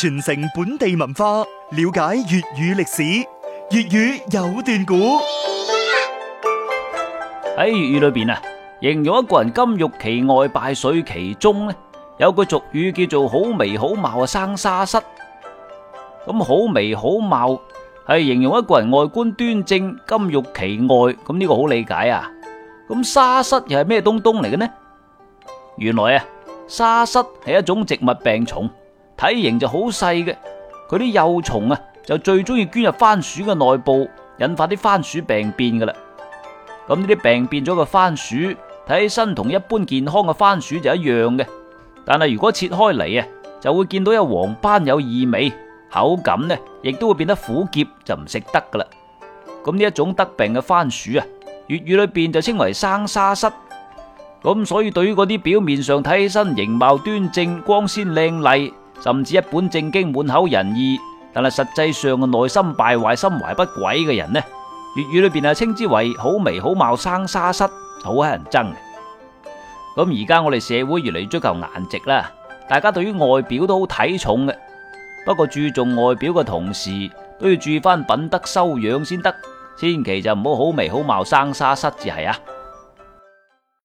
傳承本地文化，了解粵語歷史。粵語有段古喺粵語裏邊啊，形容一個人金玉其外，敗絮其中呢，有句俗語叫做好眉好貌啊生沙虱。咁好眉好貌係形容一個人外觀端正、金玉其外，咁呢個好理解啊。咁沙虱又係咩東東嚟嘅呢？原來啊，沙虱係一種植物病蟲，體型就好細嘅，佢啲幼蟲啊就最中意捐入番薯嘅內部，引發啲番薯病變噶啦。咁呢啲病變咗嘅番薯睇起身同一般健康嘅番薯就一樣嘅，但係如果切開嚟啊，就會見到有黃斑有異味，口感呢亦都會變得苦澀，就唔食得噶啦。咁呢一種得病嘅番薯啊，粵語裏邊就稱為生沙虱。咁所以對於嗰啲表面上睇起身形貌端正、光鮮靚麗，甚至一本正經、滿口仁義，但係實際上嘅內心敗壞、心懷不軌嘅人呢，粵語裏邊啊稱之為好眉好貌生沙虱，好乞人憎嘅。咁而家我哋社會越嚟越追求顏值啦，大家對於外表都好睇重嘅。不過注重外表嘅同時，都要注意翻品德修養先得，千祈就唔好好眉好貌生沙虱至係啊。